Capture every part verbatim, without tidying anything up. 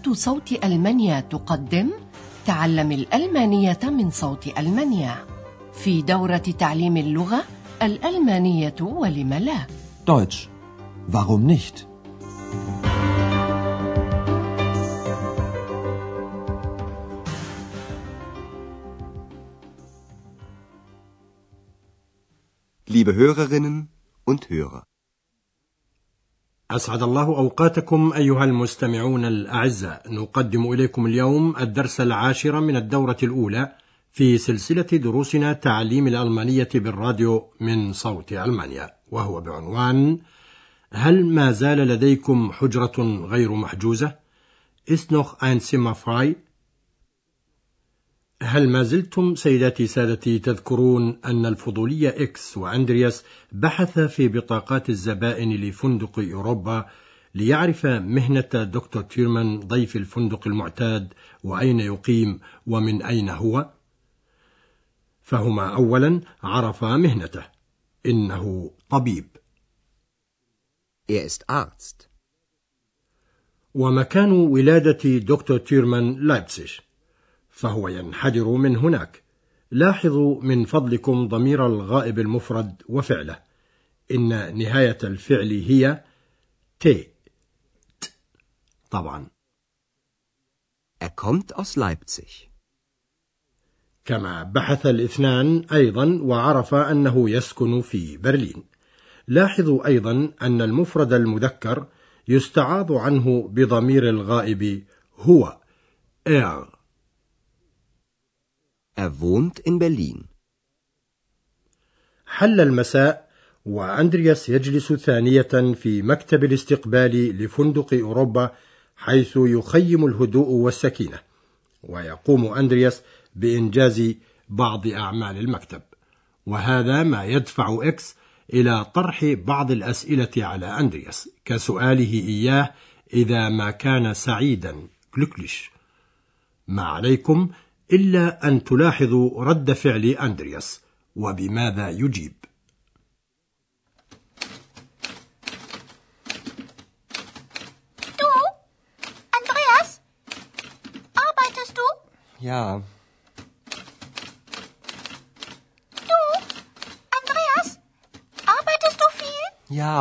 إذاعة صوت ألمانيا تقدم تعلم الألمانية من صوت ألمانيا في دورة تعليم اللغة الألمانية ولم لا. Deutsch. Warum nicht? Liebe Hörerinnen und Hörer. أسعد الله أوقاتكم أيها المستمعون الأعزاء. نقدم إليكم اليوم الدرس العاشر من الدورة الأولى في سلسلة دروسنا تعليم الألمانية بالراديو من صوت ألمانيا، وهو بعنوان هل ما زال لديكم حجرة غير محجوزة؟ Ist noch ein Zimmer frei؟ هل ما زلتم سيداتي سادتي تذكرون أن الفضولي إكس وأندرياس بحث في بطاقات الزبائن لفندق أوروبا ليعرف مهنة دكتور تيرمان ضيف الفندق المعتاد وأين يقيم ومن أين هو؟ فهما أولا عرفا مهنته، إنه طبيب. Er ist Arzt. ومكان ولادة دكتور تيرمان لايبزيغ، فهو ينحدر من هناك. لاحظوا من فضلكم ضمير الغائب المفرد وفعله، إن نهاية الفعل هي تي ت طبعا. Er kommt aus Leipzig. كما بحث الاثنان أيضا وعرف أنه يسكن في برلين. لاحظوا أيضا أن المفرد المذكر يستعاض عنه بضمير الغائب هو er. Er wohnt in Berlin. حل المساء وأندرياس يجلس ثانية في مكتب الاستقبال لفندق أوروبا، حيث يخيم الهدوء والسكينة، ويقوم أندرياس بإنجاز بعض أعمال المكتب، وهذا ما يدفع إكس إلى طرح بعض الأسئلة على أندرياس، كسؤاله إياه إذا ما كان سعيدا glücklich. ما عليكم إلا أن تلاحظوا رد فعل أندرياس وبماذا يجيب. Du, Andreas, arbeitest du? Ja. Du, Andreas, arbeitest du viel? Ja.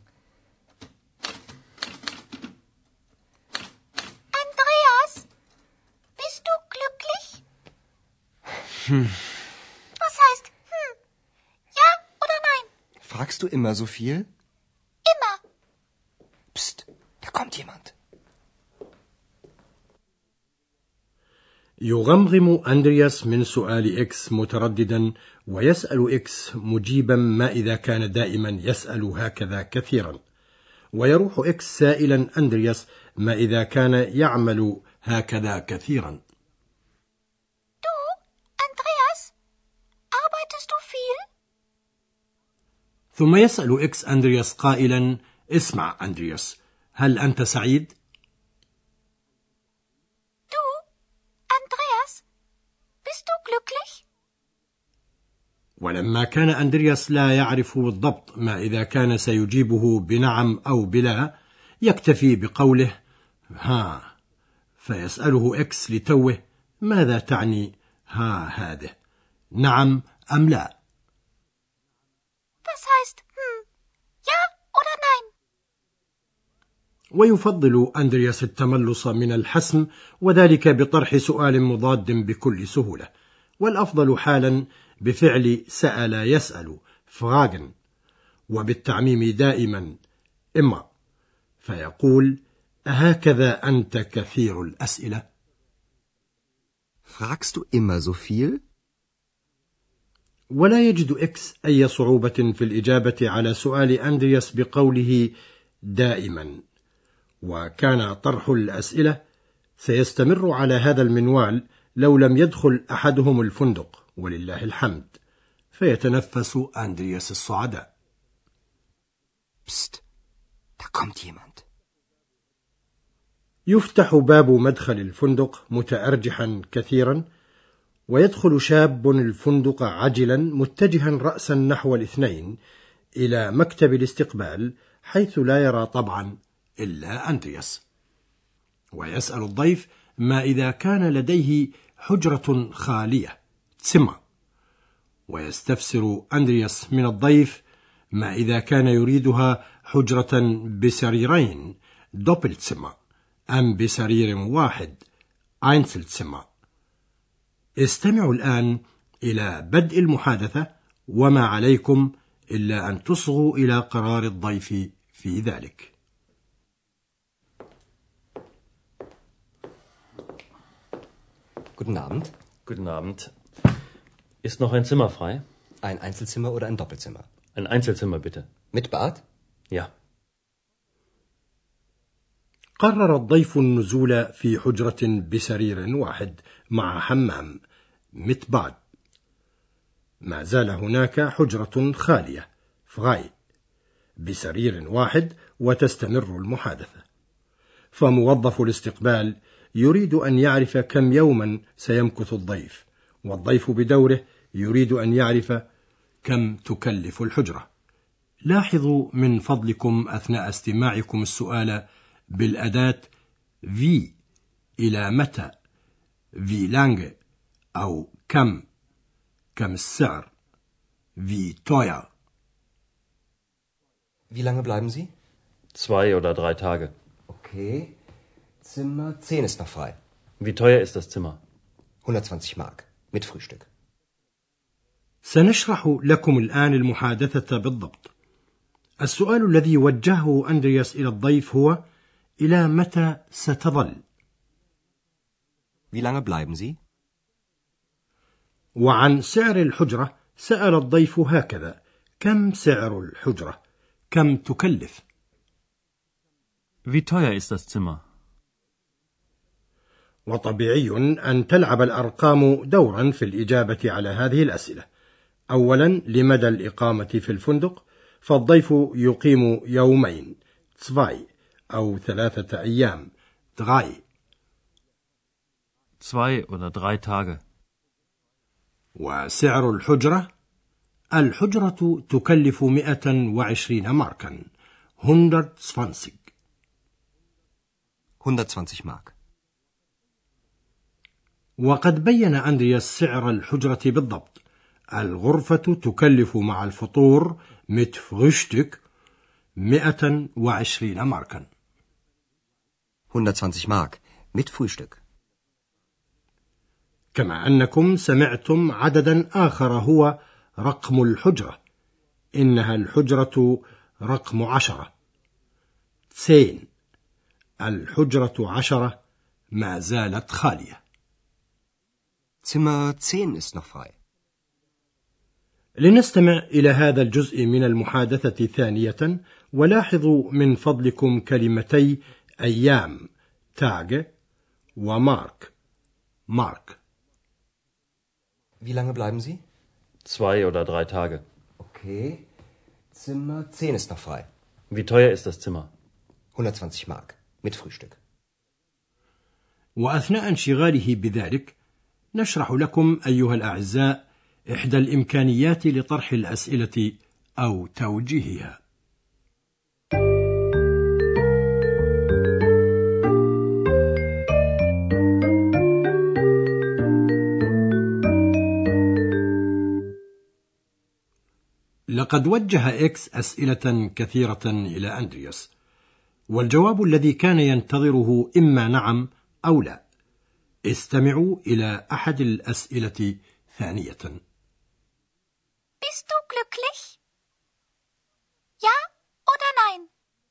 Andreas, bist du glücklich? Hm. Was heißt hm? Ja oder nein? Fragst du immer so viel? Immer. Psst, da kommt jemand. يغمغم أندرياس من سؤال إكس مترددا، ويسأل إكس مجيبا ما إذا كان دائما يسأل هكذا كثيرا، ويروح إكس سائلا أندرياس ما إذا كان يعمل هكذا كثيرا. Du, Andreas, arbeitest du viel? ثم يسأل إكس أندرياس قائلا اسمع أندرياس، هل أنت سعيد؟ Du, Andreas, bist du glücklich? ولما كان أندرياس لا يعرف بالضبط ما إذا كان سيجيبه بنعم أو بلا، يكتفي بقوله ها، فيسأله إكس لتوه ماذا تعني ها هذه، نعم أم لا؟ Was heißt hm? Ja oder nein? ويفضل أندرياس التملص من الحسم، وذلك بطرح سؤال مضاد بكل سهولة، والأفضل حالا بفعل سأل يسأل fragen، وبالتعميم دائما إما، فيقول أهكذا أنت كثير الأسئلة؟ Fragst du immer so viel? ولا يجد إكس أي صعوبة في الإجابة على سؤال أندرياس بقوله دائما، وكان طرح الأسئلة سيستمر على هذا المنوال لو لم يدخل أحدهم الفندق، ولله الحمد، فيتنفس أندرياس الصعداء. Psst, da kommt jemand. يفتح باب مدخل الفندق متأرجحا كثيرا، ويدخل شاب الفندق عجلا متجها رأسا نحو الاثنين إلى مكتب الاستقبال، حيث لا يرى طبعا إلا أندرياس. ويسأل الضيف ما إذا كان لديه حجرة خالية Zimmer. ويستفسر أندرياس من الضيف ما إذا كان يريدها حجرة بسريرين Doppelzimmer أم بسرير واحد Einzelzimmer. استمعوا الآن إلى بدء المحادثة وما عليكم إلا أن تصغوا إلى قرار الضيف في ذلك. Guten Abend. Guten Abend. Ist noch ein Zimmer frei? Ein Einzelzimmer oder ein Doppelzimmer? Ein Einzelzimmer bitte. Mit Bad? Ja. قرر الضيف النزول في حجرة بسرير واحد مع حمام mit Bad. ما زال هناك حجرة خالية frei بسرير واحد وتستمر المحادثة. فموظف الاستقبال يريد أن يعرف كم يوما سيمكث الضيف، والضيف بدوره يريد أن يعرف كم تكلف الحجرة. لاحظوا من فضلكم أثناء استماعكم السؤال بالأداة wie إلى متى، wie lange أو كم، كم السعر، wie teuer. Wie lange bleiben Sie? Zwei oder drei Tage. Okay. Zimmer zehn ist noch frei. Wie teuer ist das Zimmer? hundertzwanzig Mark. Mit Frühstück. سنشرح لكم الآن المحادثة بالضبط. السؤال الذي وجهه أندرياس إلى الضيف هو: إلى متى ستظل؟ Wie lange bleiben Sie? وعن سعر الحجرة سأل الضيف هكذا: كم سعر الحجرة؟ كم تكلف؟ Wie teuer ist das Zimmer? وطبيعي أن تلعب الأرقام دورا في الإجابة على هذه الأسئلة. أولا، لمدى الإقامة في الفندق، فالضيف يقيم يومين zwei أو ثلاثة أيام drei. Zwei oder drei Tage. وسعر الحجرة، الحجرة تكلف مئة وعشرين ماركا hundertzwanzig. hundertzwanzig Mark. وقد بين أندرياس سعر الحجرة بالضبط. الغرفة تكلف مع الفطور mit Frühstück مئة وعشرين ماركا. hundertzwanzig Mark. Mit Frühstück. كما أنكم سمعتم عددا آخر هو رقم الحجرة. إنها الحجرة رقم عشرة zehn. الحجرة عشرة ما زالت خالية. Zimmer zehn ist noch frei. لنستمع إلى هذا الجزء من المحادثة ثانية، ولاحظوا من فضلكم كلمتي أيام Tage ومارك Mark. Wie lange bleiben Sie? Zwei oder drei Tage. Okay. Zimmer zehn ist noch frei. Wie teuer ist das Zimmer? hundertzwanzig Mark. Mit Frühstück. وأثناء انشغاله بذلك نشرح لكم أيها الأعزاء إحدى الإمكانيات لطرح الأسئلة أو توجيهها. لقد وجه إكس أسئلة كثيرة إلى أندرياس، والجواب الذي كان ينتظره إما نعم أو لا. استمعوا إلى أحد الأسئلة ثانية. Bist du glücklich? Ja oder nein?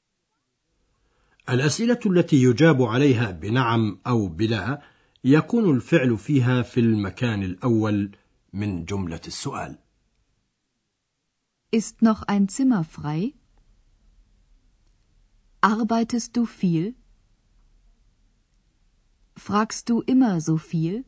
الأسئلة التي يجاب عليها بنعم أو بلا يكون الفعل فيها في المكان الأول من جملة السؤال. Ist noch ein Zimmer frei? Arbeitest du viel? Fragst du immer so viel?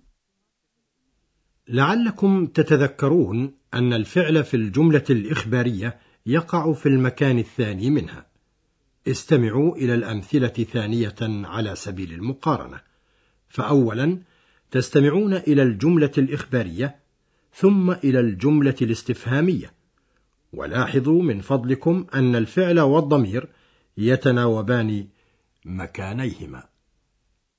لعلكم تتذكرون أن الفعل في الجملة الإخبارية يقع في المكان الثاني منها. استمعوا إلى الأمثلة ثانية على سبيل المقارنة. فأولا تستمعون إلى الجملة الإخبارية ثم إلى الجملة الاستفهامية، ولاحظوا من فضلكم أن الفعل والضمير يتناوبان مكانيهما.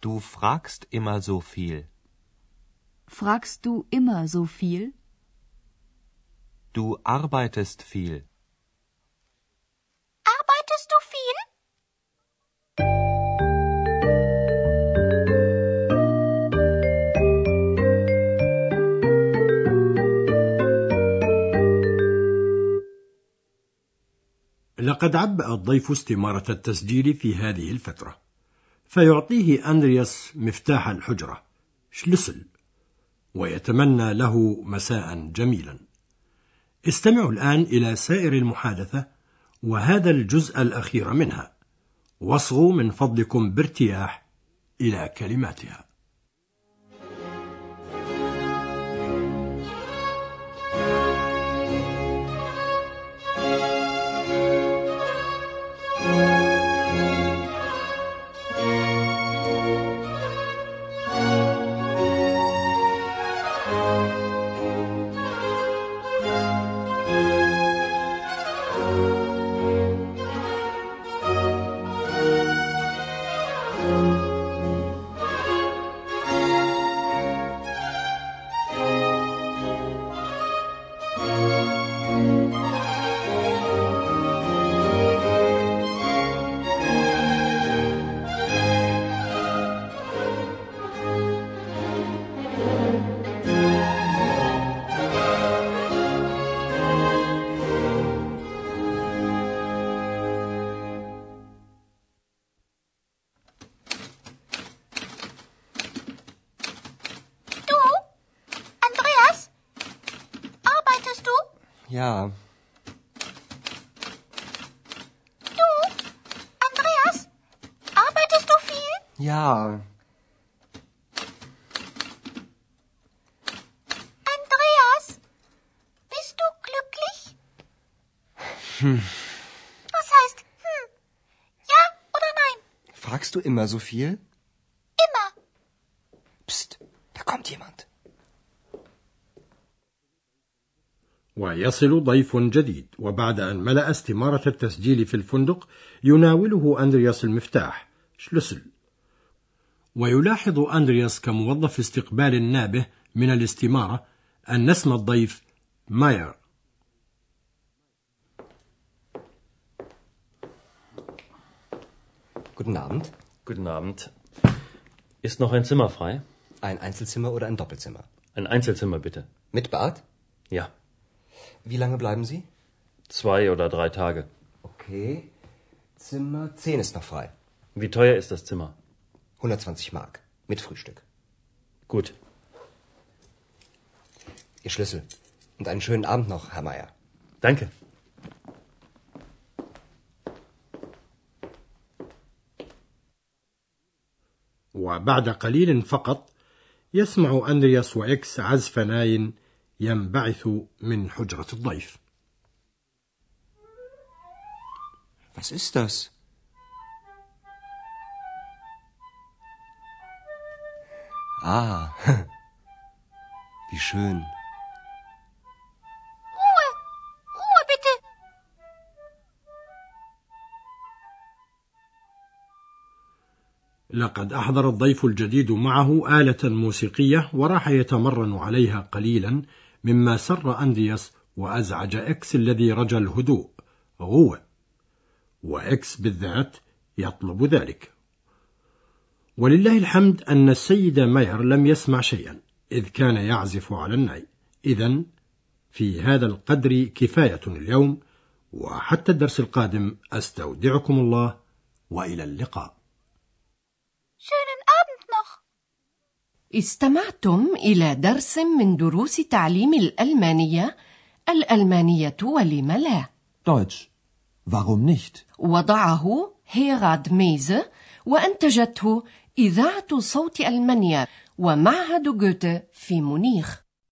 Du fragst immer so viel. Fragst du immer so viel? Du arbeitest viel. Arbeitest du viel? لقد عبأ الضيف استمارة التسجيل في هذه الفترة، فيعطيه أندرياس مفتاح الحجرة شلسل ويتمنى له مساء جميلا. استمعوا الآن إلى سائر المحادثة وهذا الجزء الأخير منها، واصغوا من فضلكم بارتياح إلى كلماتها. Ja. Du, Andreas, arbeitest du viel? Ja. Andreas, bist du glücklich? Hm. Was heißt hm? Ja oder nein? Fragst du immer so viel? Immer. Psst, da kommt jemand. ويصل ضيف جديد، وبعد أن ملأ استمارة التسجيل في الفندق يناوله أندرياس المفتاح شلسل، ويلاحظ أندرياس كموظف استقبال نابه من الاستمارة أن اسم الضيف ماير. Guten Abend. Guten Abend. Ist noch ein Zimmer frei? Ein Einzelzimmer oder ein Doppelzimmer? Ein Einzelzimmer bitte. Mit Bad? Ja. Wie lange bleiben Sie? Zwei oder drei Tage. Okay. Zimmer zehn ist noch frei. Wie teuer ist das Zimmer? hundertzwanzig Mark. Mit Frühstück. Gut. Ihr Schlüssel. Und einen schönen Abend noch, Herr Meier. Danke. وبعد قليل فقط يسمع أندرياس وإكس عزف ناي ينبعث من حجرة الضيف. Was ist das? Ah, wie schön. Ruhe, Ruhe bitte. لقد أحضر الضيف الجديد معه آلة موسيقية وراح يتمرن عليها قليلا، مما سر أندرياس وأزعج إكس الذي رجا الهدوء غوة، وإكس بالذات يطلب ذلك. ولله الحمد أن السيد ماير لم يسمع شيئا إذ كان يعزف على الناي. إذن في هذا القدر كفاية اليوم، وحتى الدرس القادم أستودعكم الله وإلى اللقاء. Schönen Abend noch. استمعتم إلى درس من دروس تعليم الألمانية، الألمانية ولم لا. Deutsch. Warum nicht? وضعه هيراد ميزه، وأنتجته إذاعة صوت ألمانيا ومعهد جوته في مونيخ.